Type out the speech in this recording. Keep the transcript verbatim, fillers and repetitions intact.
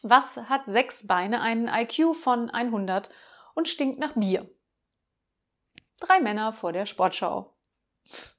Was hat sechs Beine, einen I Q von hundert und stinkt nach Bier? Drei Männer vor der Sportschau.